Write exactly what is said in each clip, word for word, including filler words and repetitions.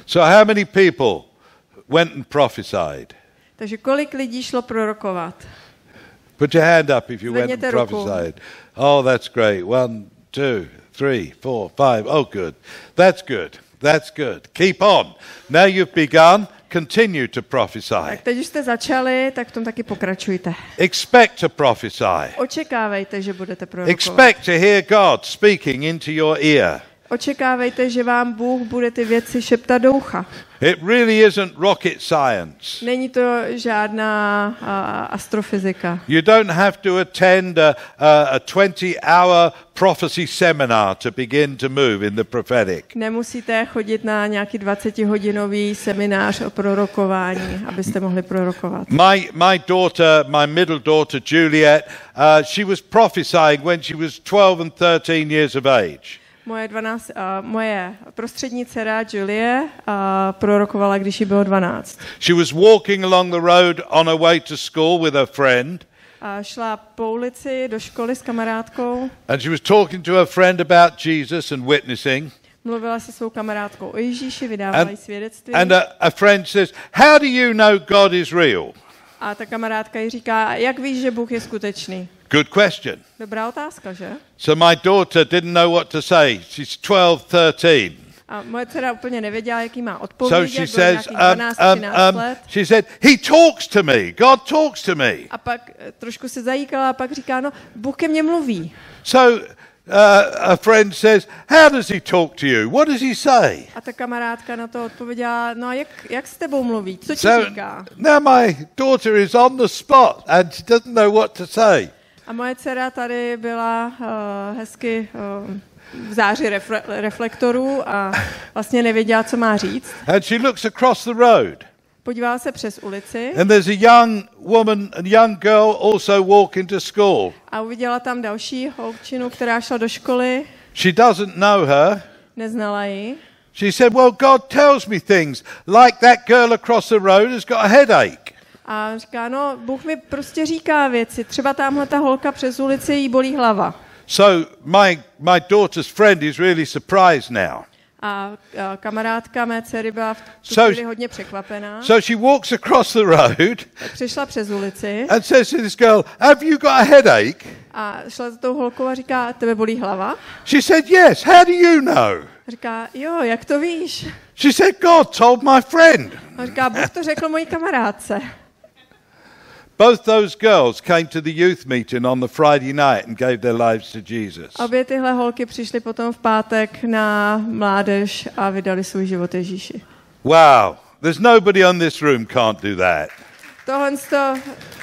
So how many people went and prophesied? Takže kolik lidí šlo prorokovat? Put your hand up if you went Zvedněte and ruku. prophesied. Oh, that's great. One, two, three, four, five. Oh, good. That's good. That's good. Keep on. Now you've begun. Continue to prophesy. Tak teď už jste začali, tak v tom taky pokračujte. Expect to prophesy. Očekávejte, že budete prorokovat. Expect to hear God speaking into your ear. Očekávejte, že vám Bůh bude ty věci šeptat do ucha. It really isn't rocket science. Není to žádná uh, astrofyzika. You don't have to attend a, a, a twenty-hour prophecy seminar to begin to move in the prophetic. Nemusíte chodit na nějaký dvacetihodinový seminář o prorokování, abyste mohli prorokovat. My my daughter, my middle daughter Juliet, uh, she was prophesying when she was twelve and thirteen years of age. Moje, dvanáct, uh, moje prostřední dcera Julie uh, prorokovala, když jí bylo dvanáct. She was walking along the road on her way to school with her friend. A šla po ulici do školy s kamarádkou. And she was talking to her friend about Jesus and witnessing. Mluvila se svou kamarádkou o Ježíši, vydávala jí svědectví. And a, a friend says, "How do you know God is real?" A ta kamarádka jí říká, jak víš, že Bůh je skutečný? Good question. Dobrá otázka, že? So my daughter didn't know what to say. She's twelve, thirteen. A moje dcera úplně nevěděla, jaký má So odpovědět, she bylo says, nějakých um, dvanáct um, třináct um, let. she said, "He talks to me. God talks to me." A pak eh, trošku se zajíkala a pak říká, no, Bůh ke mně mluví. So uh, a friend says, "How does he talk to you? What does he say?" A ta kamarádka na to odpověděla, no a jak, jak s tebou mluví? Co ti So říká? now my daughter is on the spot and she doesn't know what to say. A moje dcera tady byla uh, hezky uh, v záři refle- reflektorů a vlastně nevěděla, co má říct. And she looks across the road. Podívala se přes ulici And there's a young woman, a young girl also walking to school. a uviděla tam další holčinu, která šla do školy, She doesn't know her. neznala ji. She said, "Well, God tells me things like that girl across the road has got a headache." A říká, no, Bůh mi prostě říká věci. Třeba tamhle ta holka přes ulici, jí bolí hlava. So my my daughter's friend is really surprised now. A, a kamarádka mé dcery byla v tu So- chvíli hodně překvapená. So she walks across the road Tak přišla přes ulici and says to this girl, "Have you got a headache?" a šla za tou holkou a říká, tebe bolí hlava? She said, "Yes. How do you know?" A říká, jo, jak to víš? She said, "God told my friend." A říká, Bůh to řekl mojí kamarádce. Both those girls came to the youth meeting on the Friday night and gave their lives to Jesus. Obě tyhle holky přišly potom v pátek na mládež a vydali svůj život Ježíši. Wow. There's nobody on this room can't do that. Tohle to,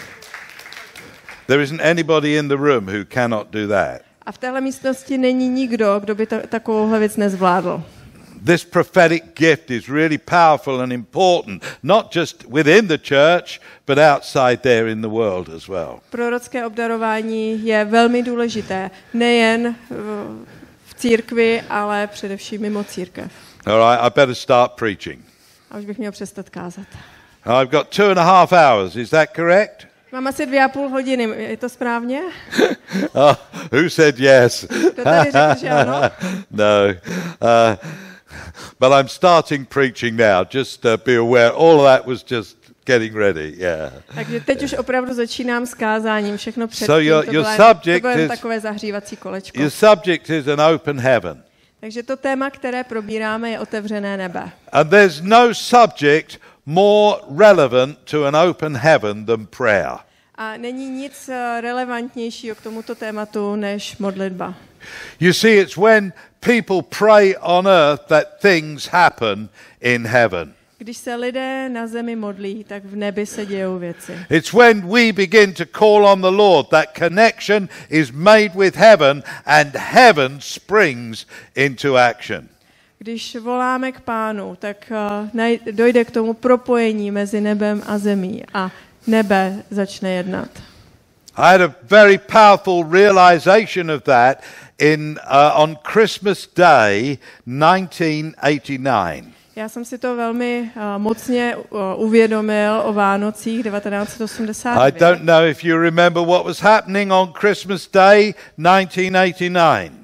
There isn't anybody in the room who cannot do that. a v téhle místnosti není nikdo, kdo by ta, takovouhle věc nezvládl. This prophetic gift is really powerful and important, not just within the church, but outside there in the world as well. Prorocké obdarování je velmi důležité, nejen v, v církvi, ale především mimo církev. All right, I better start preaching. A už bych měl přestat kázat. I've got two and a half hours, is that correct? Mám asi dvě a půl hodiny, je to správně? Oh, who said yes? Kdo tady řekl, že ano? No. Uh, but I'm starting preaching now, just uh, be aware. All of that was just getting ready, yeah. Takže teď už opravdu začínám s kázáním, všechno předtím, So your- to, your bylo, subject to bylo jen is- takové zahřívací kolečko. Your subject is an open heaven. Takže to téma, které probíráme, je otevřené nebe. And there's no subject more relevant to an open heaven than prayer. A není nic eh, relevantnějšího k tomuto tématu než modlitba. You see, it's when people pray on earth that things happen in heaven. Když se lidé na zemi modlí, tak v nebi se dějou věci. It's when we begin to call on the Lord that connection is made with heaven and heaven springs into action. Když voláme k Pánu, tak uh, dojde k tomu propojení mezi nebem a zemí a nebe začne jednat. I had a very powerful realization of that in uh, on Christmas Day nineteen eighty-nine. Já jsem si to velmi uh, mocně uh, uvědomil o Vánocích devatenáct osmdesát devět. I don't know if you remember what was happening on Christmas Day nineteen eighty-nine.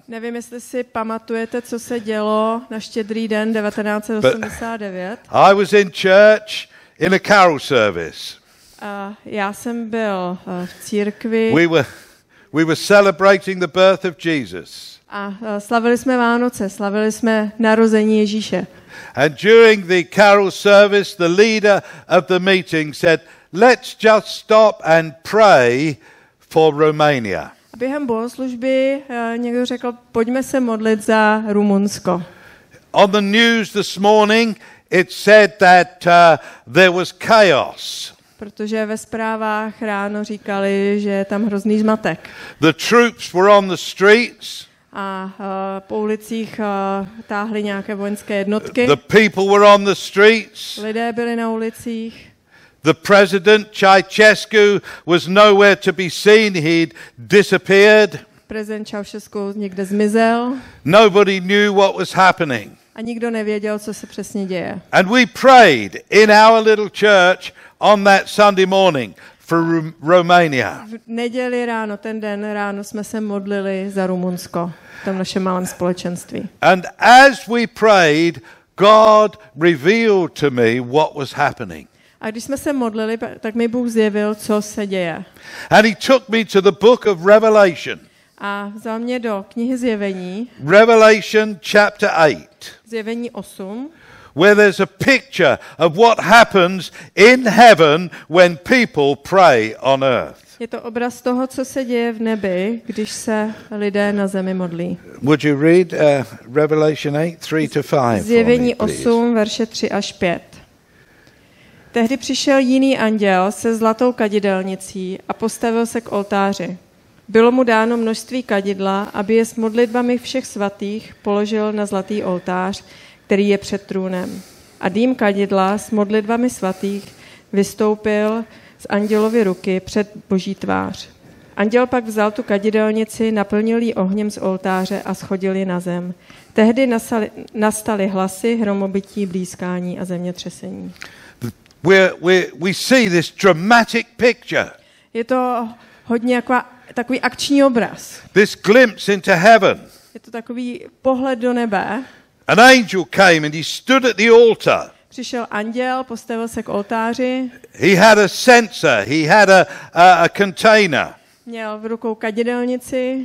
Nevím, jestli si pamatujete, co se dělo na Štědrý den devatenáct osmdesát devět. I was in church in a carol service. A já jsem byl v církvi. We were we were celebrating the birth of Jesus. A slavili jsme Vánoce, slavili jsme narození Ježíše. And during the carol service, the leader of the meeting said, "Let's just stop and pray for Romania." A během bohoslužby někdo řekl, pojďme se modlit za Rumunsko. On the news this morning, it said that uh, there was chaos. Protože ve zprávách ráno říkali, že je tam hrozný zmatek. The troops were on the streets. A uh, po ulicích uh, táhly nějaké vojenské jednotky. The people were on the streets. Lidé byli na ulicích. The president, Ceausescu, was nowhere to be seen. He'd disappeared. Prezident Ceausescu někde zmizel. Nobody knew what was happening. A nikdo nevěděl, co se přesně děje. And we prayed in our little church on that Sunday morning for Ru- Romania. V neděli ráno, ten den ráno jsme se modlili za Rumunsko v tom našem malém společenství. And as we prayed, God revealed to me what was happening. A když jsme se modlili, tak mi Bůh zjevil, co se děje. And he took me to the book of Revelation. A vzal mě do knihy Zjevení. Revelation chapter eight. Zjevení osm. Where there's a picture of what happens in heaven when people pray on earth. Je to obraz toho, co se děje v nebi, když se lidé na zemi modlí. Would you read uh, Revelation eight, three to five? Zjevení osm, verše tři až pět. Tehdy přišel jiný anděl se zlatou kadidelnicí a postavil se k oltáři. Bylo mu dáno množství kadidla, aby je s modlitbami všech svatých položil na zlatý oltář, který je před trůnem. A dým kadidla s modlitbami svatých vystoupil z andělovy ruky před Boží tvář. Anděl pak vzal tu kadidelnici, naplnil ji ohněm z oltáře a shodil ji na zem. Tehdy nastaly, nastaly hlasy, hromobytí, blízkání a zemětřesení. We we we see this dramatic picture. Je to hodně jako takový akční obraz. This glimpse into heaven. Je to takový pohled do nebe. An angel came and he stood at the altar. Přišel anděl, postavil se k oltáři. He had a censer, he had a, a, a container. Měl v rukou kadidelnici.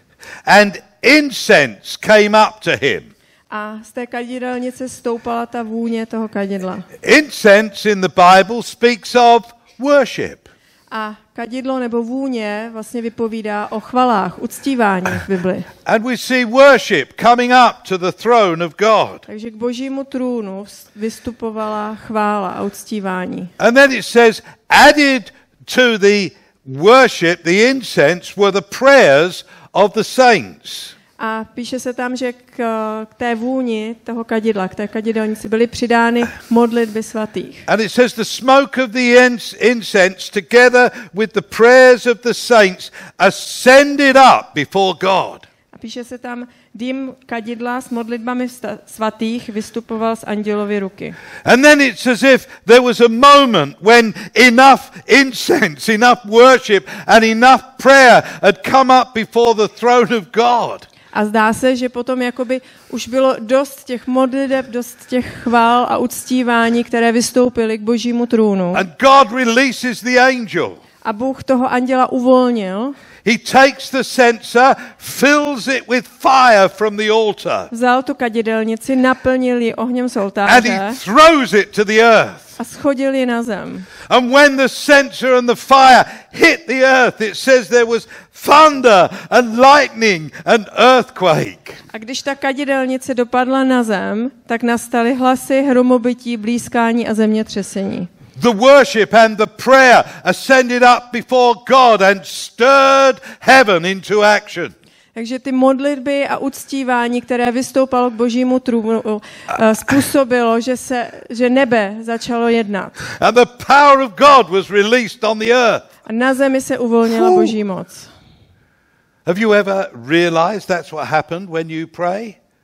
And incense came up to him. A z té kadidelnice stoupala ta vůně toho kadidla. Incense in the Bible speaks of worship. A kadidlo nebo vůně vlastně vypovídá o chvalách, uctívání v Bibli. And we see worship coming up to the throne of God. Takže k Božímu trůnu vystupovala chvála a uctívání. And then it says, added to the worship, the incense, were the prayers of the saints. A píše se tam, že k, k té vůni toho kadidla, k té kadidelnici byly přidány modlitby svatých. And it says the smoke of the incense together with the prayers of the saints ascended up before God. A píše se tam, dým kadidla s modlitbami svatých vystupoval z andělovy ruky. And then it's as if there was a moment when enough incense, enough worship and enough prayer had come up before the throne of God. A zdá se, že potom jakoby už bylo dost těch modliteb, dost těch chvál a uctívání, které vystoupily k Božímu trůnu. And God releases the angel. A Bůh toho anděla uvolnil. He takes the censer, fills it with fire from the altar. Vzal tu kadidelnici, naplnil ji ohněm z And oltáře he throws it to the earth. a shodil ji na zem. And when the censer and the fire hit the earth, it says there was thunder and lightning and earthquake. A když ta kadidelnice dopadla na zem, tak nastaly hlasy, hromobytí, blízkání a zemětřesení. The worship and the prayer ascended up before God and stirred heaven into action. Takže ty modlitby a uctívání, které vystoupalo k Božímu trůnu, způsobilo, že se, že nebe začalo jednat. And the power of God was released on the earth. A na zemi se uvolnila Boží moc. Have you ever realized that's what happened when you pray?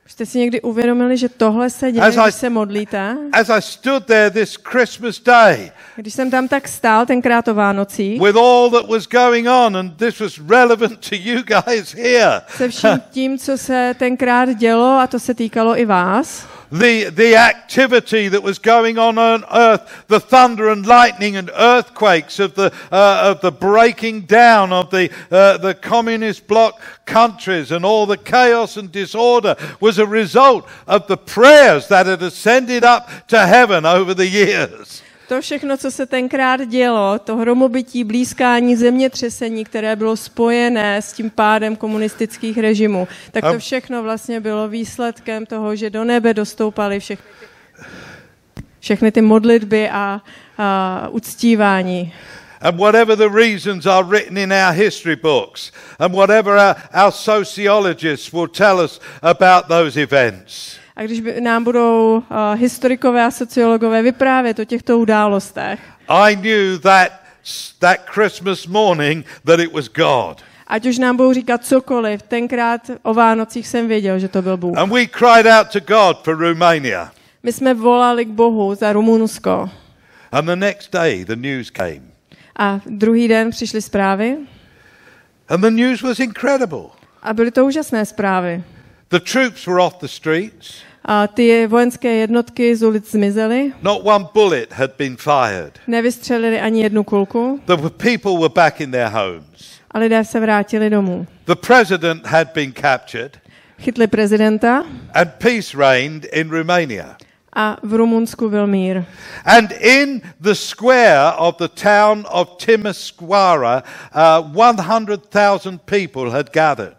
Jste si někdy uvědomili, že tohle se děje, As I- když se modlíte? As I stood there this Christmas day Když jsem tam tak stál tenkrát o Vánocích, with all that was going on, and this was relevant to you guys here. se vším tím, co se tenkrát dělo, a to se týkalo i vás, The, the activity that was going on on earth, the thunder and lightning and earthquakes of the, uh, of the breaking down of the, uh, the communist bloc countries, and all the chaos and disorder was a result of the prayers that had ascended up to heaven over the years. to všechno, co se tenkrát dělo, to hromobytí, blízkání, zemětřesení, které bylo spojené s tím pádem komunistických režimů, tak to všechno vlastně bylo výsledkem toho, že do nebe dostoupaly všechny ty, všechny ty modlitby a, a uctívání. And whatever the reasons are written in our history books, and whatever our, our sociologists will tell us about those events. A když by nám budou uh, historikové a sociologové vyprávět o těchto událostech, I knew that that Christmas morning that it was God. ať už nám budou říkat cokoliv, tenkrát o Vánocích jsem věděl, že to byl Bůh. And we cried out to God for Romania. My jsme volali k Bohu za Rumunsko. And the next day the news came. A druhý den přišly zprávy. And the news was incredible. A byly to úžasné zprávy. The troops were off the streets. A ty vojenské jednotky z ulic zmizely. Not one bullet had been fired. Nevystřelili ani jednu kulku. The people were back in their homes. A lidé se vrátili domů. The president had been captured. Chytli prezidenta. And peace reigned in Romania. A v Rumunsku byl mír. And in the square of the town of Timisoara, uh, one hundred thousand people had gathered.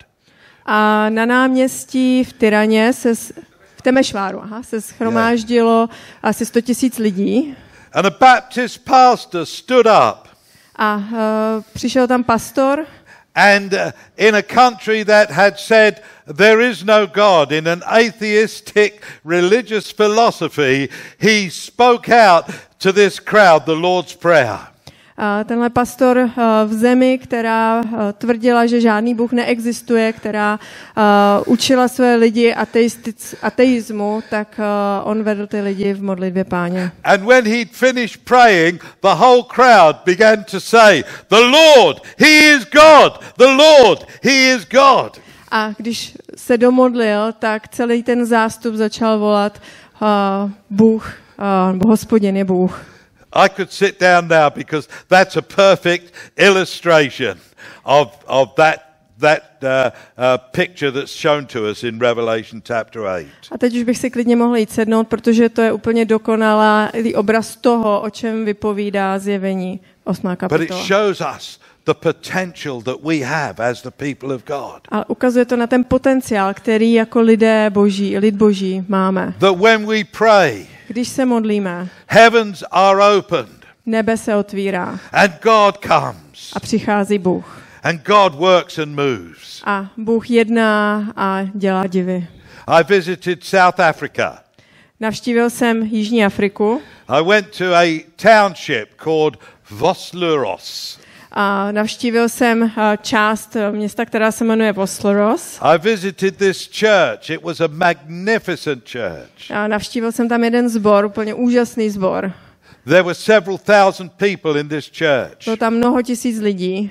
A na náměstí v Tyraně se s- v Temešváru, aha, se shromáždilo asi sto tisíc lidí. And a Baptist pastor stood up. A uh, přišel tam pastor. And uh, in a country that had said there is no God, in an atheistic religious philosophy, he spoke out to this crowd the Lord's Prayer. A tenhle pastor uh, v zemi, která uh, tvrdila, že žádný Bůh neexistuje, která uh, učila své lidi ateistic, ateismu, tak uh, on vedl ty lidi v modlitbě Páně. And when he'd finished praying, the whole crowd began to say, "The Lord, he is God. The Lord, he is God." A když se domodlil, tak celý ten zástup začal volat uh, Bůh, uh, nebo Hospodin je Bůh. I could sit down now because that's a perfect illustration of, of that, that uh, uh, picture that's shown to us in Revelation chapter eight. A teď už bych si klidně mohl jít sednout, protože to je úplně dokonalý obraz toho, o čem vypovídá Zjevení osmá But it kapitola. shows us the potential that we have as the people of God. A ukazuje to na ten potenciál, který jako lidé boží, lid boží máme. That when we pray, Když se modlíme, heavens are opened nebe se otvírá and God comes a přichází Bůh. and God works and moves. A Bůh jedná a dělá divy. I visited South Africa. Navštívil jsem Jižní Afriku I went to a township called Vosluros. a navštívil jsem a, část města, která se jmenuje Vosloros. I visited this church. It was a magnificent church. A navštívil jsem tam jeden sbor, úplně úžasný sbor. There were several thousand people in this church. Bylo tam mnoho tisíc lidí.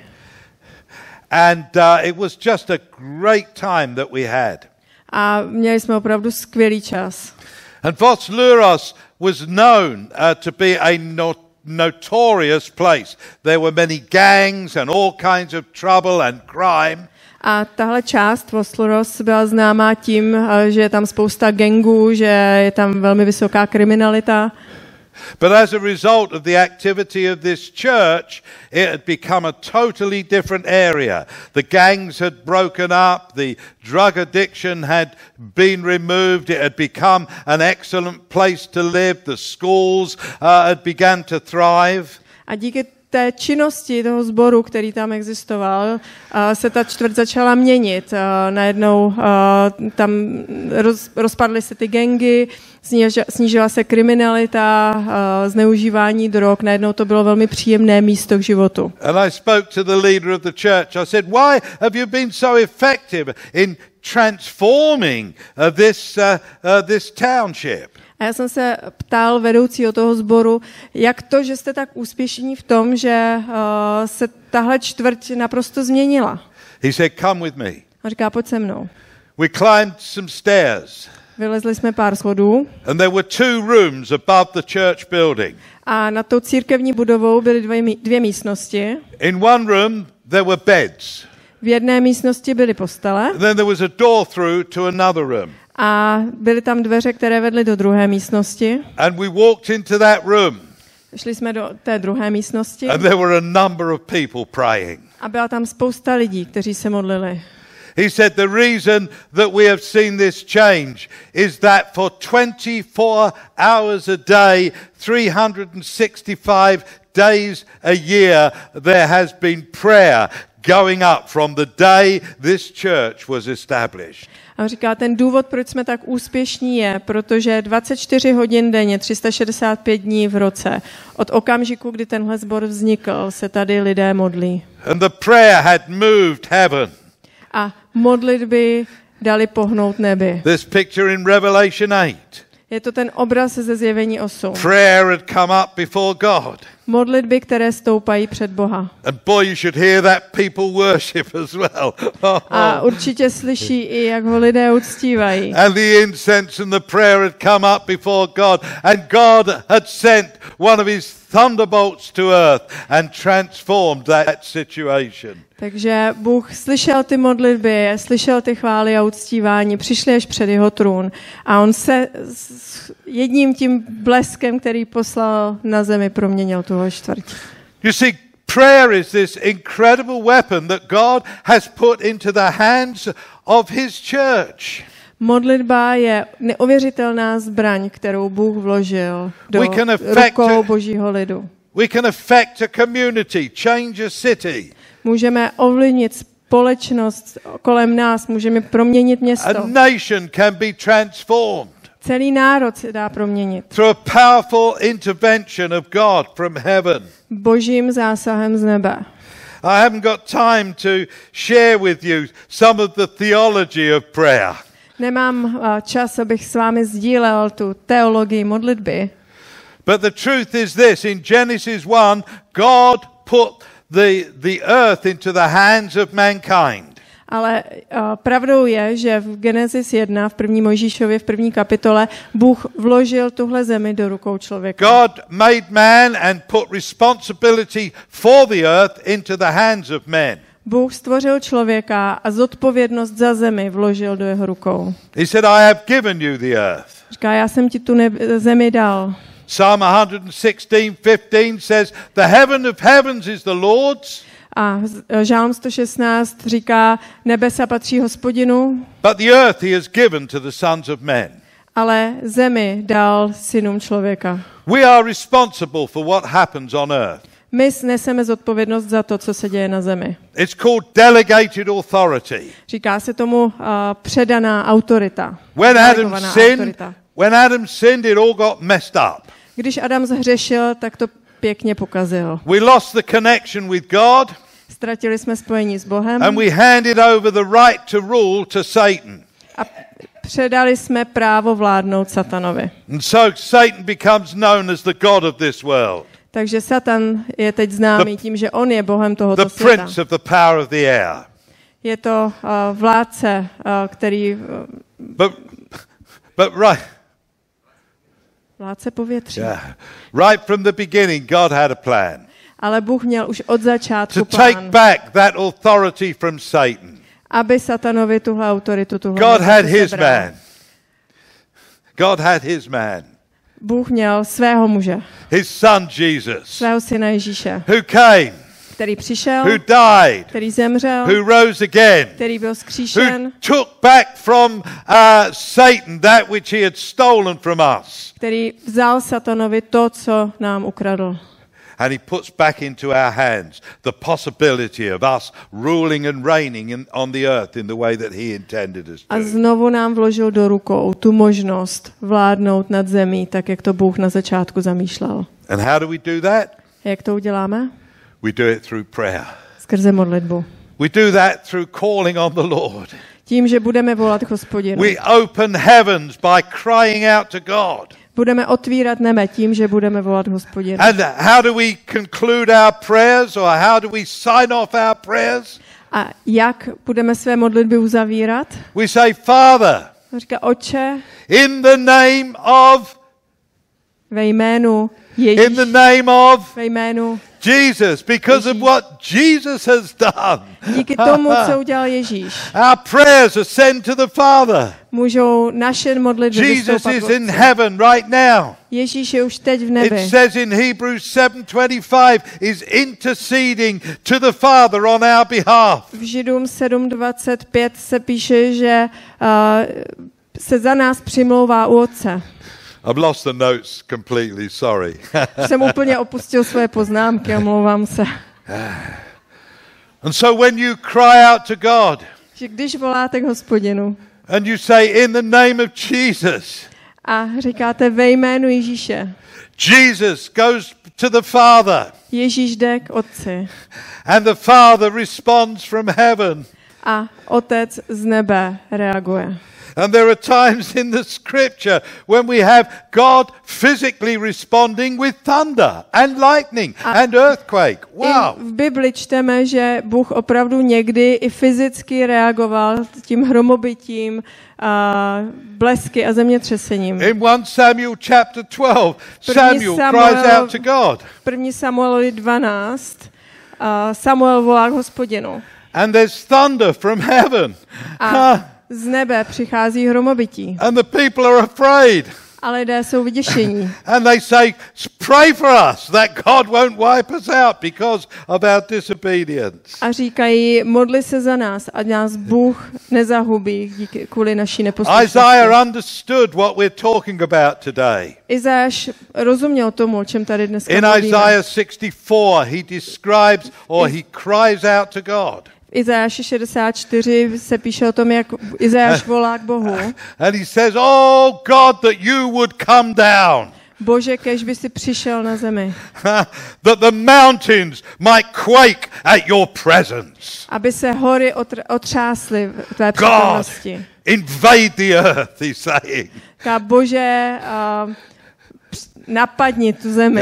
And uh, it was just a great time that we had. A měli jsme opravdu skvělý čas. And Vosluros was known uh, to be a not notorious place. There were many gangs and all kinds of trouble and crime. A tahle část Vosloros byla známá tím, že je tam spousta gangů, že je tam velmi vysoká kriminalita. But as a result of the activity of this church, it had become a totally different area. The gangs had broken up, the drug addiction had been removed, it had become an excellent place to live, the schools uh, had begun to thrive. A díky té činnosti toho sboru, který tam existoval, se ta čtvrť začala měnit. Najednou tam roz, rozpadly se ty gangy, snížila se kriminalita, zneužívání drog, najednou to bylo velmi příjemné místo k životu. And I spoke to the leader of the church. I said, "Why have you been so effective in transforming uh, this, uh, uh, this township. A já jsem se ptal vedoucího toho sboru, jak to, že jste tak úspěšní v tom, že uh, se tahle čtvrť naprosto změnila. He said, come with me. A říká, pojď se mnou. We climbed some stairs. Vylezli jsme pár schodů. And there were two rooms above the church building. A nad tou církevní budovou byly dvě, dvě místnosti. In one room there were beds. V jedné místnosti byly postele. And then there was a door through to another room. A byly tam dveře, které vedly do druhé místnosti. And we walked into that room. Šli jsme do té druhé místnosti. And there were a number of people praying. A byla tam spousta lidí, kteří se modlili. He said the reason that we have seen this change is that for twenty-four hours a day, three hundred sixty-five days a year, there has been prayer going up from the day this church was established. A říká, ten důvod, proč jsme tak úspěšní, je, protože dvacet čtyři hodin denně, tři sta šedesát pět dní v roce, od okamžiku, kdy tenhle sbor vznikl, se tady lidé modlí. And the prayer had moved heaven. A modlitby dali pohnout nebi. This picture in Revelation eight. Je to ten obraz ze Zjevení osm. Prayer had come up before God. Modlitby, které stoupají před Boha. And boy, you should hear that people worship as well. A určitě slyší i, jak ho lidé uctívají. And the incense and the prayer had come up before God. And God had sent one of his thunderbolts to earth and transformed that situation. Takže Bůh slyšel ty modlitby, slyšel ty chvály a uctívání, přišli až před jeho trůn a on se s jedním tím bleskem, který poslal na zemi, proměnil tuhle čtvrť. You see, prayer is this incredible weapon that God has put into the hands of his church. Modlitba je neuvěřitelná zbraň, kterou Bůh vložil do rukou Božího lidu. We can affect a community, change a city. Můžeme ovlivnit společnost kolem nás, můžeme proměnit město. A nation can be transformed. Celý národ se dá proměnit. Through a powerful intervention of God from heaven. Božím zásahem z nebe. I haven't got time to share with you some of the theology of prayer. Nemám čas, abych s vámi sdílel tu teologii modlitby. But the truth is this, in Genesis one, God put the, the earth into the hands of mankind. Ale uh, pravdou je, že v Genesis jedna, v první Mojžíšově, v první kapitole, Bůh vložil tuhle zemi do rukou člověka. God made man and put responsibility for the earth into the hands of men. Bůh stvořil člověka a zodpovědnost za zemi vložil do jeho rukou. He said, I have given you the earth. Říká, já jsem ti tu neb- zemi dal. Psalm one sixteen fifteen says, the heaven of heavens is the Lord's. A Žálm sto šestnáct říká, nebesa patří Hospodinu, but the earth he has given to the sons of men. Ale zemi dal synům člověka. We are responsible for what happens on earth. My neseme zodpovědnost za to, co se děje na zemi. It's called delegated authority. Říká se tomu uh, předaná autorita. When Adam sinned, when Adam sinned, it all got messed up. Když Adam zhřešil, tak to pěkně pokazil. We lost the connection with God. Ztratili jsme spojení s Bohem. And we handed over the right to rule to Satan. A předali jsme právo vládnout satanovi. And so Satan becomes known as the god of this world. Takže Satan je teď známý tím, že on je bohem tohoto the světa. Prince of the power of the air. Je to uh, vládce, uh, který... Uh, but, but right. Vládce povětří. Yeah. Right from the beginning, God had a plan. Ale Bůh měl už od začátku to plán. take back that authority from Satan. Aby Satanovi tuhle autoritu, tuhle God had his man. God had his man. Bůh měl svého muže. His son Jesus. Svého syna Ježíše. Who came. Který přišel. Who died. Který zemřel. Who rose again. Který byl vzkříšen. Who took back from uh, Satan that which he had stolen from us. Který vzal Satanovi to, co nám ukradl. And he puts back into our hands the possibility of us ruling and reigning in, on the earth in the way that he intended us to. A znovu nám vložil do rukou tu možnost vládnout nad zemí, tak jak to Bůh na začátku zamýšlel. And how do we do that? Jak to uděláme? We do it through prayer. Skrze modlitbu. We do that through calling on the Lord. Tím, že budeme volat Hospodinu. We open heavens by crying out to God. Budeme otvírat nebe tím, že budeme volat Hospodinu. And how do we conclude our prayers, or how do we sign off our prayers? A jak budeme své modlitby uzavírat? We say, Father, Říká, Otče, in the name of, ve jménu Ježíš, in the name of ve jménu Jesus, because of what Jesus has done. díky tomu, co udělal Ježíš. Our prayers are sent to the Father. Můžou naše modlitby Jesus vystoupat is k in Otci. heaven right now. Ježíš je už teď v nebi. It says in Hebrews seven twenty-five, is interceding to the Father on our behalf. V Židům sedm dvacet pět se píše, že uh, se za nás přimlouvá u Otce. I've lost the notes completely, sorry. Jsem úplně opustil své poznámky, omlouvám se. And so when you cry out to God, Že když voláte k Hospodinu and you say, in the name of Jesus, a říkáte ve jménu Ježíše, Jesus goes to the Father, Ježíš jde k Otci and the Father responds from heaven. a Otec z nebe reaguje. And there are times in the scripture when we have God physically responding with thunder and lightning and earthquake. Wow. I v Bibli čteme, že Bůh opravdu někdy i fyzicky reagoval tím hromobytím, a blesky a zemětřesením. In First Samuel chapter twelve, Samuel Samuel- cries out to God. první Samuelovi dvanáct a Samuel volá k Hospodinu. And there's thunder from heaven. A z nebe přichází hromobytí. And the people are afraid. A lidé jsou vyděšení. And they say, pray for us that God won't wipe us out because of our disobedience. A říkají, modli se za nás, ať nás Bůh nezahubí díky, kvůli naší neposlušnosti. Isaiah understood what we're talking about today. Izáš rozuměl tomu, o čem tady dneska In mluvíme. Isaiah sixty-four, he describes or he cries out to God. V Izáši šedesát čtyři se píše o tom, jak Izáš volá k Bohu. And he says, oh God, that you would come down. Bože, kež by si přišel na zemi. That the mountains might quake at your presence. Aby se hory otr- otřásly v tvé God, přítomnosti. invade the earth, he's saying. Říká, Bože, uh, napadni tu zemi.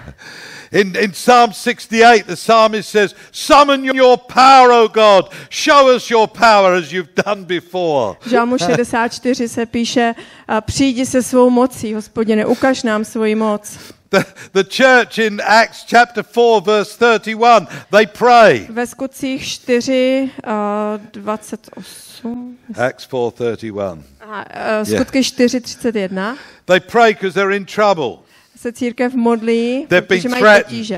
In, in Psalm sixty-eight, the psalmist says, summon your power, O God. Show us your power as you've done before. V Žalmu šedesát čtyři se píše, uh, přijdi se svou mocí, Hospodine, ukaž nám svoji moc. The, the church in Acts chapter four, verse thirty-one, they pray. Ve Skutcích čtyři, uh, dvacet osm. Acts four thirty-one. Aha, uh, Skutky čtyři třicet jedna. They pray because they're in trouble. Se církev modlí, They've been protože mají threatened. potíže.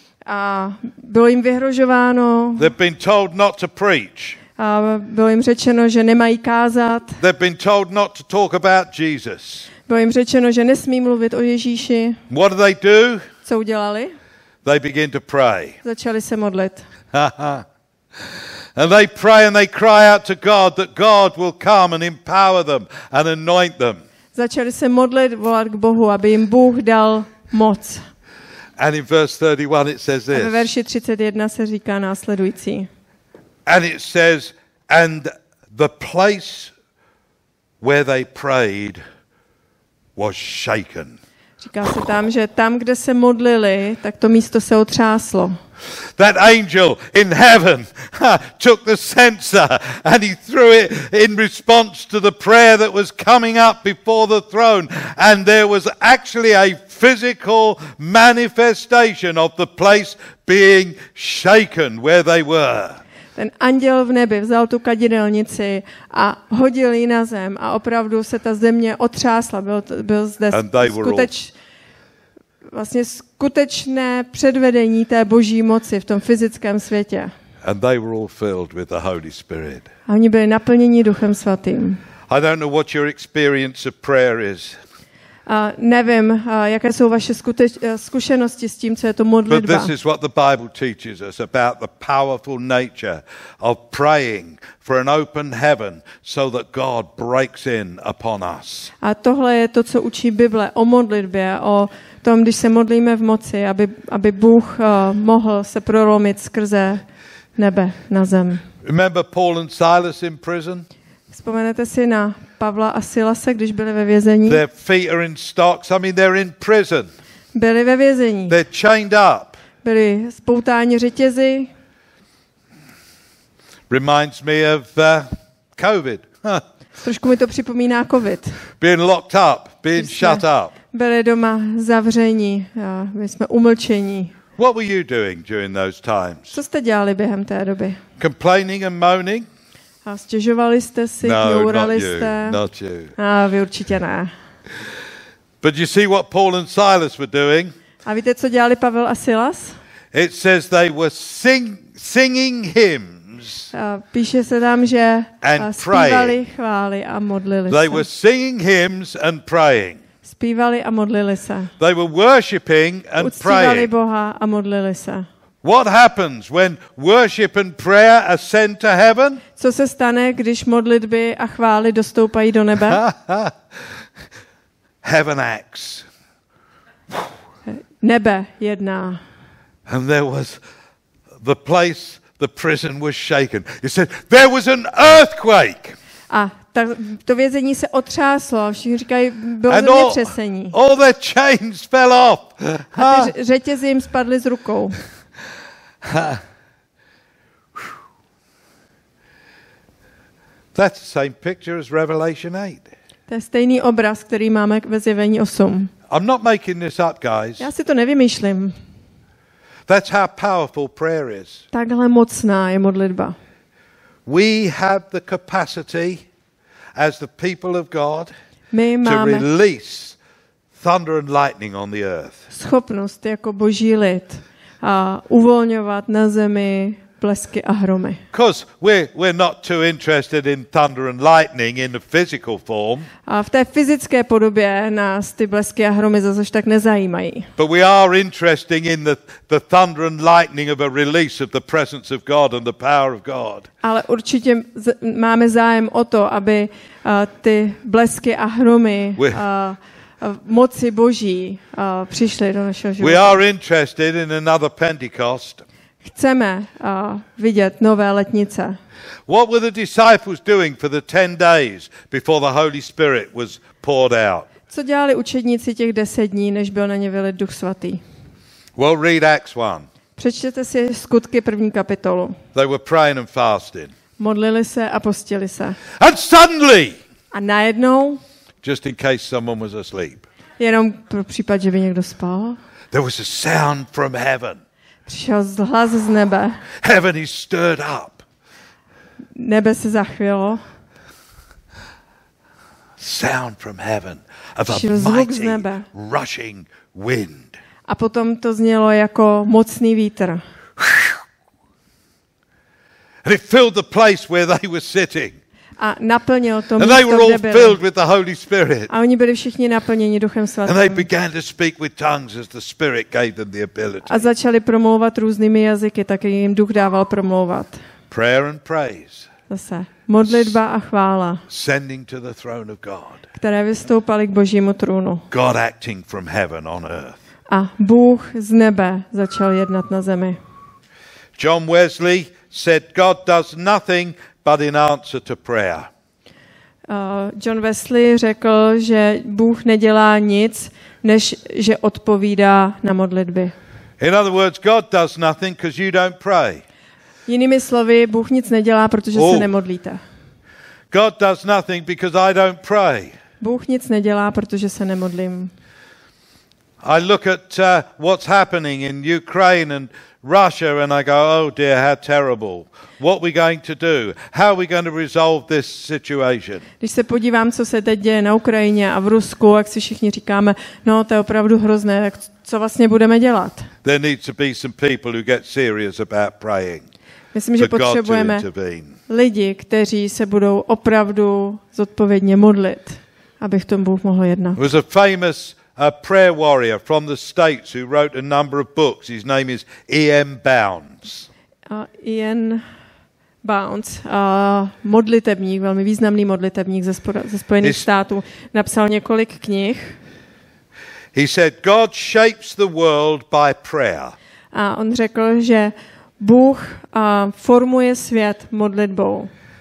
A bylo jim vyhrožováno, They've been told not to preach. a bylo jim řečeno, že nemají kázat, They've been told not to talk about Jesus. bylo jim řečeno, že nesmí mluvit o Ježíši. What do they do? Co udělali? They begin to pray. Začali se modlit. And they pray and they cry out to God that God will come and empower them and anoint them. Začali se modlit, volat k Bohu, aby jim Bůh dal moc. And in verse thirty-one it says A ve this. verši třicet jedna se říká následující. And it says, and the place where they prayed was shaken. Říká se tam, že tam, kde se modlili, tak to místo se otřáslo. That angel in heaven ha, took the censer and he threw it in response to the prayer that was coming up before the throne. And there was actually a physical manifestation of the place being shaken where they were. Ten anděl v nebi vzal tu kadidelnici a hodil ji na zem a opravdu se ta země otřásla. Byl, byl zde skuteč, vlastně skutečné předvedení té boží moci v tom fyzickém světě. And they were all filled with the Holy Spirit. A oni byli naplněni Duchem Svatým. I don't know what your experience of prayer is. A nevím, a jaké jsou vaše skuteč, zkušenosti s tím, co je to But modlitba. this is what the Bible teaches us about the powerful nature of praying for an open heaven so that God breaks in upon us. A tohle je to, co učí Bible o modlitbě, o tom, když se modlíme v moci, aby, aby Bůh uh, mohl se prolomit skrze nebe na zem. Remember Paul and Silas in prison? Vzpomenete si na Pavla a Silase, když byli ve vězení? Their feet are in stocks. I mean, they're in prison. Byli ve vězení. They're chained up. Byli spoutáni řetězy. Reminds me of uh, COVID. Huh. Trošku mi to připomíná covid. Being locked up, being shut up. Byli doma zavření, a my jsme umlčení. What were you doing during those times? Co jste dělali během té doby? Complaining and moaning? A stěžovali jste si, No, kňourali not you, jste? not you. A vy určitě ne. But you see what Paul and Silas were doing? A víte, co dělali Pavel a Silas? It says they were sing, singing hymns. A píše se tam, že And zpívali praying. chvály a modlili They se. were singing hymns and praying. Zpívali a modlili se. They were worshipping and Uctívali praying. Boha a modlili se. What happens when worship and prayer ascend to heaven? Co se stane, když modlitby a chvály dostoupají do nebe? Heaven acts. Nebe jedná. And there was the place, the prison was shaken. It said there was an earthquake. A ta, to vězení se otřáslo. Všichni říkají, bylo And all, zemětřesení. all their chains fell off. A ty řetězy jim spadly z rukou. That's the same picture as Revelation eight. To je stejný obraz, který máme ve Zjevení osm. I'm not making this up, guys. Já si to nevymýšlím. That's how powerful prayer is. Takhle mocná je modlitba. We have the capacity as the people of God My to máme release thunder and lightning on the earth. schopnost jako boží lid a uvolňovat na zemi blesky a hromy. Because we're, we're not too interested in thunder and lightning in the physical form, A v té fyzické podobě nás ty blesky a hromy zase tak nezajímají. but we are interested in the, the thunder and lightning of a release of the presence of God and the power of God. Ale určitě z- máme zájem o to, aby uh, ty blesky a hromy uh, We- uh, moci boží uh, přišly do našeho We života. are interested in another Pentecost. Chceme uh, vidět nové letnice. What were the disciples doing for the ten days before the Holy Spirit was poured out? Co dělali učedníci těch deset dní, než byl na ně vylit Duch Svatý? Well, read Acts one. Přečtěte si Skutky první kapitolu. They were praying and fasting. Modlili se a postili se. And suddenly, A najednou, just in case someone was asleep, jenom pro případ, že by někdo spal, there was a sound from heaven. přišel hlas z nebe. Heaven is stirred up. Nebe se zachvělo. Sound from heaven of a Přišel zvuk z mighty nebe. rushing wind. A potom to znělo jako mocný vítr. And it filled the place where they were sitting. A naplnil to And they were místo, all kde byli. filled with the Holy Spirit. A oni byli všichni naplněni Duchem And they Svatým. began to speak with tongues as the Spirit gave them the ability. A začali promlouvat různými jazyky, tak jim Duch dával promlouvat. Prayer and praise, Zase modlitba a chvála, sending to the throne of God. které vystoupaly k božímu trůnu. God acting from heaven on earth. A Bůh z nebe začal jednat na zemi. John Wesley said, God does nothing but in answer to prayer. Uh, John Wesley řekl, že Bůh nedělá nic, než že odpovídá na modlitby. In other words, God does nothing because you don't pray. Jinými slovy, Bůh nic nedělá, protože Oh. se nemodlíte. God does nothing because I don't pray. Bůh nic nedělá, protože se nemodlím. I look at uh, what's happening in Ukraine and Russia and I go, oh dear, how terrible. What are we going to do? How are we going to resolve this situation? Když se podívám, co se teď děje na Ukrajině a v Rusku, jak si všichni říkáme, no to je opravdu hrozné, tak co vlastně budeme dělat? There needs to be some people who get serious about praying. Myslím, že For God to potřebujeme intervene. lidi, kteří se budou opravdu zodpovědně modlit, aby v tom Bůh mohl jednat. There was a famous uh, prayer warrior from the States who wrote a number of books. His name is E M Bounds. A Ian Bounds, a modlitebník, velmi významný modlitebník ze, spora, ze Spojených His- států, napsal několik knih He said, God shapes the world by prayer. a on řekl, že Bůh a, formuje svět modlitbou.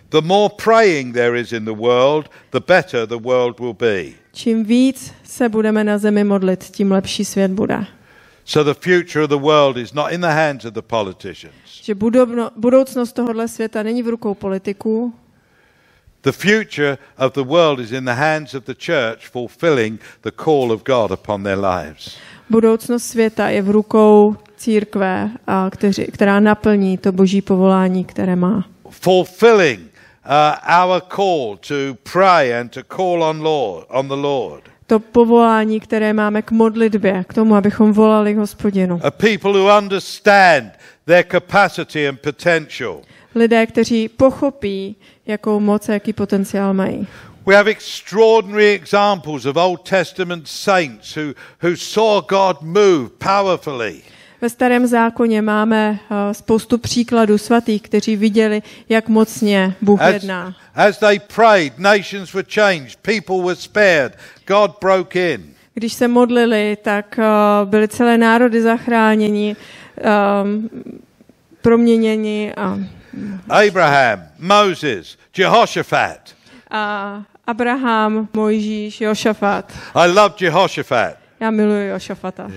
The more praying there is in the world, the better the world will be. Čím víc se budeme na zemi modlit, tím lepší svět bude. So the future of the world is not in the hands of the politicians. Že budovno, budoucnost tohohle světa není v rukou politiků. The future of the world is in the hands of the church fulfilling the call of God upon their lives. Budoucnost světa je v rukou církve, a kteři, která naplní to boží povolání, které má. Fulfilling uh, our call to pray and to call on Lord, on the Lord. To povolání, které máme k modlitbě, k tomu, abychom volali k Hospodinu. A people who understand their capacity and potential. Lidé, kteří pochopí, jakou moc a jaký potenciál mají. We have extraordinary examples of Old Testament saints who, who saw God move powerfully. Ve Starém zákoně máme uh, spoustu příkladů svatých, kteří viděli, jak mocně Bůh As, jedná. as they prayed, nations were changed, people were spared, God broke in. Když se modlili, tak uh, byly celé národy zachráněni, um, proměněni. A, Abraham, Moses, Jehoshaphat. a Abraham, Mojžíš, Jošafat. I love Jehoshaphat. Já miluji Jošafata.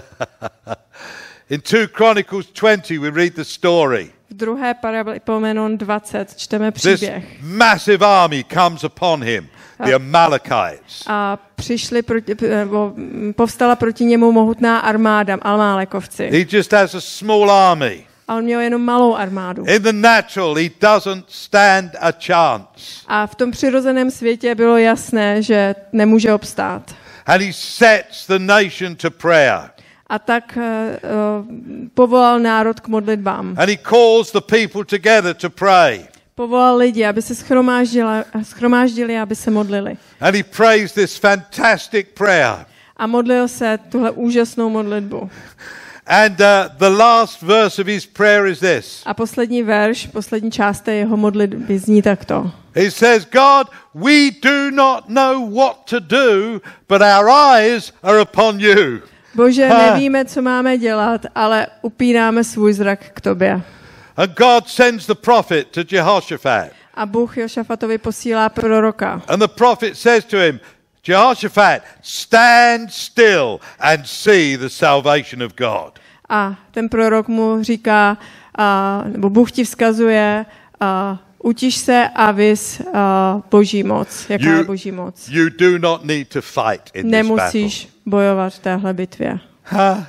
In two Chronicles twenty we read the story. V druhé Paralipomenon dvacet čteme This příběh. massive army comes upon him, the Amalekites. A přišli proti, nebo povstala proti němu mohutná armáda, Amálekovci. He just has a small army. A on měl jenom malou armádu. In the natural, he doesn't stand a chance. A v tom přirozeném světě bylo jasné, že nemůže obstát. And he sets the nation to prayer. A tak uh, povolal národ k modlitbám. And he calls the people together to pray. Povolal lidi, aby se schromáždili, schromáždili, aby se modlili. And he prays this fantastic prayer. A modlil se tuhle úžasnou modlitbu. And uh, the last verse of his prayer is this. A poslední verš, poslední část té jeho modlitby zní takto. He says, God, we do not know what to do, but our eyes are upon you. Bože, nevíme, co máme dělat, ale upíráme svůj zrak k tobě. And God sends the prophet to Jehoshaphat. A Bůh Jošafatovi posílá proroka. And the prophet says to him, Jehoshaphat, stand still and see the salvation of God. A ten prorok mu říká, a, nebo Bůh ti vzkazuje, a, utiš se a vys a, boží moc. Jaká You- je boží moc? You do not need to fight in this battle. Nemusíš bojovat v téhle bitvě. Huh?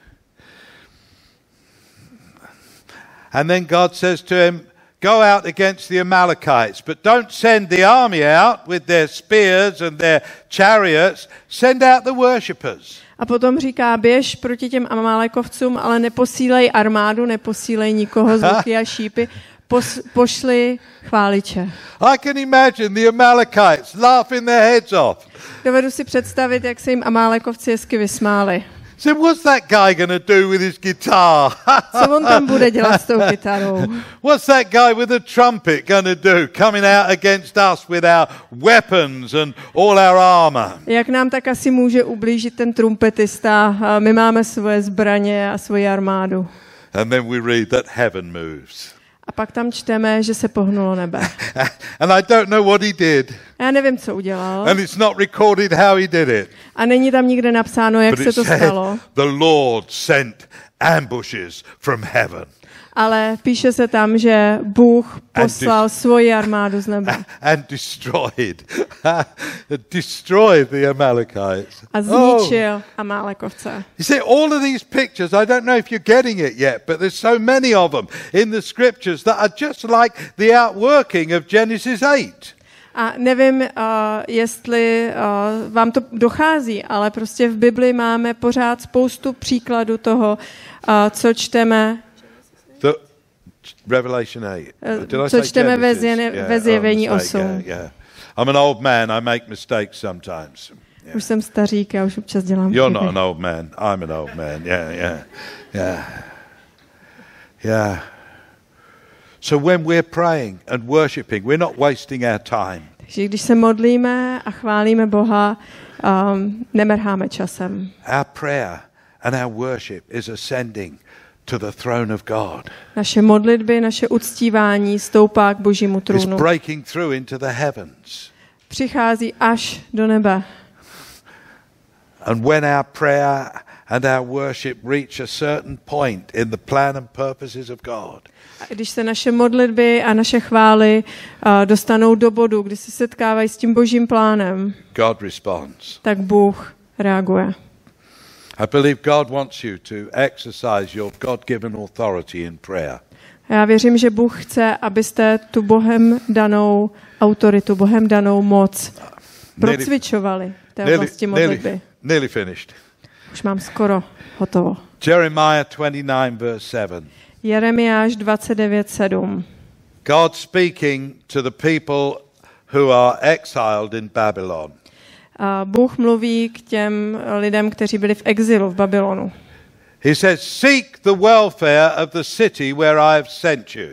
And then God says to him, go out against the Amalekites, but don't send the army out with their spears and their chariots. Send out the worshippers. A potom říká, běž proti těm Amálekovcům, ale neposílej armádu, neposílej nikoho z luky a šípy, pos, pošli chváliče. I can imagine the Amalekites laughing their heads off. Dovedu si představit, jak se jim Amálekovci hezky vysmáli. So what's that guy going to do with his guitar? Co on tam bude dělat s tou kytarou? What's that guy with the trumpet going to do, coming out against us with our weapons and all our armor? Jak nám tak asi může ublížit ten trumpetista? A my máme svoje zbraně a svoji armádu. And then we read that heaven moves. A pak tam čteme, že se pohnulo nebe. And I don't know what he did. Já nevím, co udělal. And it's not recorded how he did it. A není tam nikde napsáno, jak But se it to said stalo. the Lord sent ambushes from heaven Ale píše se tam, že Bůh poslal svoji armádu z nebe. and destroyed, destroyed the Amalekites. A Oh. zničil Amálekovce. You see, all of these pictures, I don't know if you're getting it yet, but there's so many of them in the scriptures that are just like the outworking of Genesis eight. A nevím, uh, jestli uh, vám to dochází, ale prostě v Bibli máme pořád spoustu příkladů toho, uh, co čteme, The Revelation eight. Uh, Did I co say čteme ve Genesis? zjene- ve Zjevení oh, mistake, osm. yeah, yeah. I'm an old man, I make mistakes sometimes. Yeah. Už jsem stařík, já už občas dělám You're not chyby. an old man, I'm an old man. Yeah, yeah, yeah. Yeah. So when we're praying and worshiping, we're not wasting our time. Takže když se modlíme a chválíme Boha, um, nemrháme časem. Our prayer and our worship is ascending to the throne of God. Naše modlitby, naše uctívání stoupá k Božímu It's trůnu. breaking through into the heavens. Přichází až do nebe. And when our prayer and our worship reach a certain point in the plan and purposes of God, A když se naše modlitby a naše chvály uh, dostanou do bodu, kdy se setkávají s tím Božím plánem, God responds. tak Bůh reaguje. I believe God wants you to exercise your God-given authority in prayer. Já věřím, že Bůh chce, abyste tu Bohem danou autoritu, Bohem danou moc procvičovali v té oblasti modlitby. Nearly, nearly finished. Už mám skoro hotovo. Jeremiah twenty-nine verse seven. Jeremiáš dvacet devět sedm. God speaking to the people who are exiled in Babylon. A Bůh mluví k těm lidem, kteří byli v exilu v Babylonu. He says, seek the welfare of the city where I have sent you.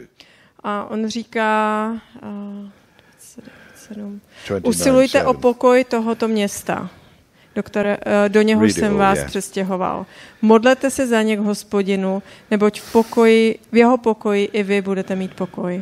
A on říká, uh, dvacet devět sedm, dvacet devět usilujte sedm. o pokoj tohoto města, do, které, uh, do něhož Read it jsem all, vás yeah. přestěhoval. Modlete se za ně k Hospodinu, neboť v, pokoji, v jeho pokoji i vy budete mít pokoj.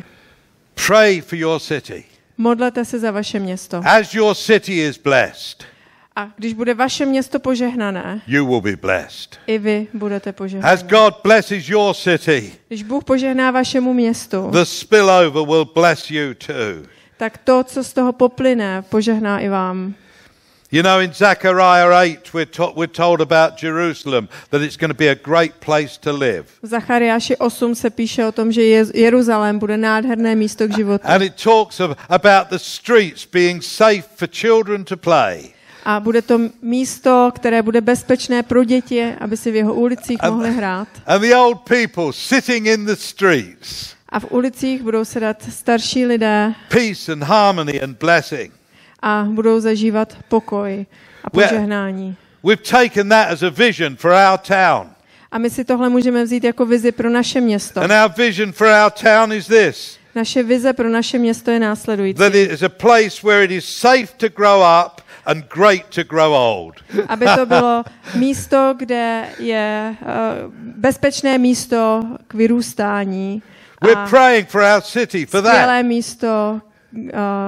Pray for your city. Modlete se za vaše město. As your city is blessed, A když bude vaše město požehnané, you will be blessed. i vy budete As požehnaní. God blesses your city, Když Bůh požehná vašemu městu, the spillover will bless you too. tak to, co z toho poplyne, požehná i vám. You know, in Zechariah eight, we're, to- we're told about Jerusalem, that it's going to be a great place to live. V Zachariáši osm se píše o tom, že Je- Jeruzalém bude nádherné místo k životu. And it talks of, about the streets being safe for children to play. A bude to místo, které bude bezpečné pro děti, aby si v jeho ulicích And- mohli hrát. And the old people sitting in the streets, A v ulicích budou sedat starší lidé peace and harmony and blessing. a budou zažívat pokoj a Well- požehnání. We've taken that as a vision for our town. A my si tohle můžeme vzít jako vizi pro naše město. And our vision for our town is this, Naše vize pro naše město je následující. that it is a place where it is safe to grow up and great to grow old. Aby to bylo místo, kde je uh, bezpečné místo k vyrůstání We're a praying for our city for that. skvělé místo, uh,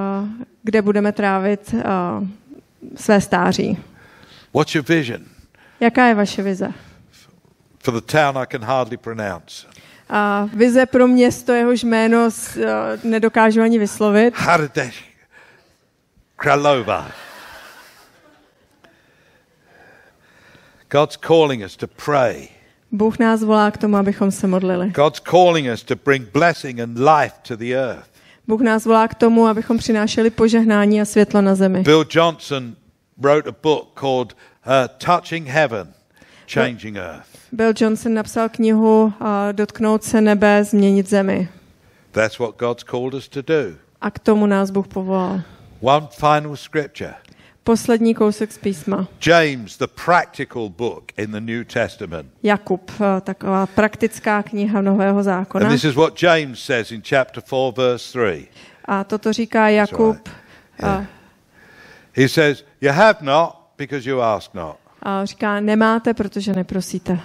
kde budeme trávit uh, své stáří. What's your vision Jaká je vaše vize? for the town I can hardly pronounce? A vize pro město, jehož jméno s, uh, nedokážu ani vyslovit. Hradec Kralova. God's calling us to pray. Bůh nás volá k tomu, abychom se modlili. God's calling us to bring blessing and life to the earth. Bůh nás volá k tomu, abychom přinášeli požehnání a světlo na zemi. Bill Johnson wrote a book called uh, Touching Heaven, Changing Earth. Bill Johnson napsal knihu uh, Dotknout se nebe, změnit zemi. That's what God's called us to do. A k tomu nás Bůh povolal. One final scripture. Poslední kousek z písma. James, the practical book in the New Testament. Jakub, uh, taková praktická kniha Nového zákona. And this is what James says in chapter four, verse three. A toto říká Jakub. Uh, He says, you have not because you ask not. a říká, nemáte, protože neprosíte.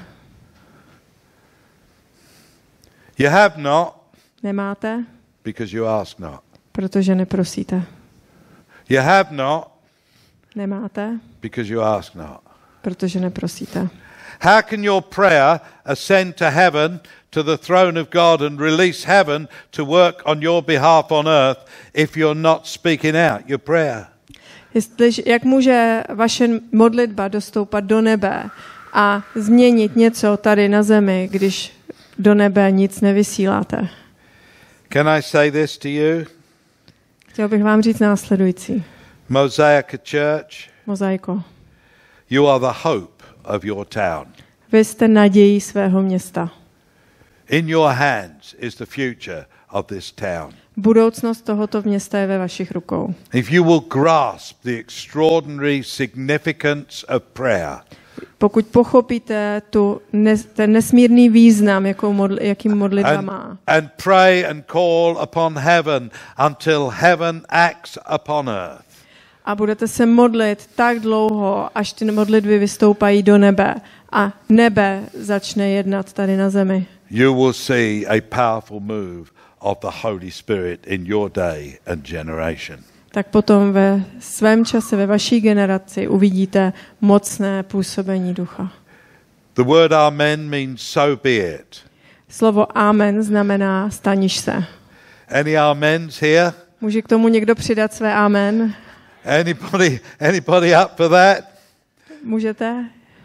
You have not Nemáte, because you ask not. protože neprosíte. You have not Nemáte, because you ask not. protože neprosíte. How can your prayer ascend to heaven, to the throne of God, and release heaven to work on your behalf on earth if you're not speaking out your prayer? Jestli, jak může vaše modlitba dostoupat do nebe a změnit něco tady na zemi, když do nebe nic nevysíláte? Can I say this to you? Chtěl bych vám říct následující. Mosaic Church, Mozaiko. you are the hope of your town. Vy jste nadějí svého města. In your hands is the future of this town. Budoucnost tohoto města je ve vašich rukou. If you will grasp the extraordinary significance of prayer, Pokud pochopíte tu nes, ten nesmírný význam, jakou modl, jakým modlitba and, má, and pray and call upon heaven until heaven acts upon earth, A budete se modlit tak dlouho, až ty modlitby vystoupají do nebe a nebe začne jednat tady na zemi. You will see a powerful move of the Holy Spirit in your day and generation. Tak potom ve svém čase, ve vaší generaci uvidíte mocné působení ducha. The word amen means so be it. Slovo amen znamená staniš se. Any amens here? Může k tomu někdo přidat své amen? Anybody, anybody up for that? Můžete?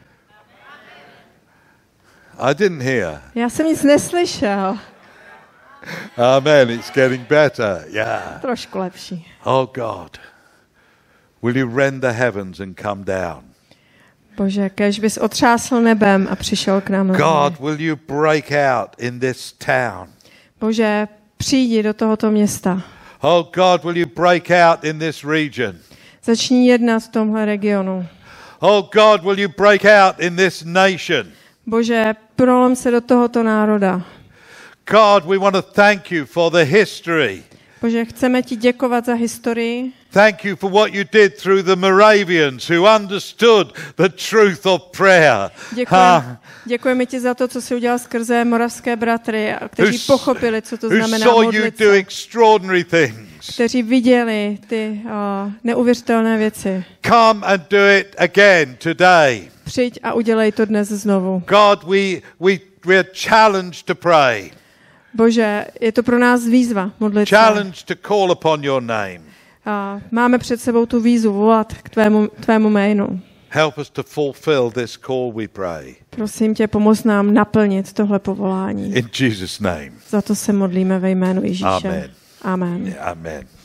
I didn't hear. Já jsem nic neslyšel. Amen. It's getting better. Yeah. Trošku lepší. Oh God. Will you rend the heavens and come down? Bože, kéž bys otřásl nebem a přišel k nám. God, will you break out in this town? Bože, přijdi do tohoto města. Oh God, will you break out in this region? Začni jednat v tomhle regionu. Oh God, will you break out in this nation? Bože, prolom se do tohoto národa. God, we want to thank you for the history. Bože, chceme ti děkovat za historii. Thank you for what you did through the Moravians who understood the truth of prayer. Děkujeme, děkujeme ti za to, co jsi udělal skrze moravské bratry, kteří pochopili, co to znamená modlit se. Kteří viděli ty uh, neuvěřitelné věci. Come and do it again today. Přijď a udělej to dnes znovu. God, we we we are challenged to pray. Bože, je to pro nás výzva modlit se. Challenged to call upon your name. A máme před sebou tu výzvu volat k tvému, tvému jménu. Help us to fulfill this call, we pray. Prosím tě, pomoz nám naplnit tohle povolání. In Jesus' name. Za to se modlíme ve jménu Ježíše. Amen. Amen. Amen.